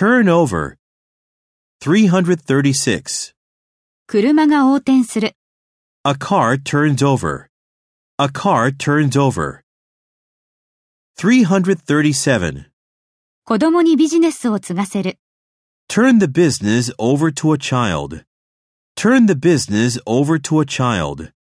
Turn over. 336. 車が横転する。 A car turns over. A car turns over. 337. 子供にビジネスを継がせる。 Turn the business over to a child. Turn the business over to a child.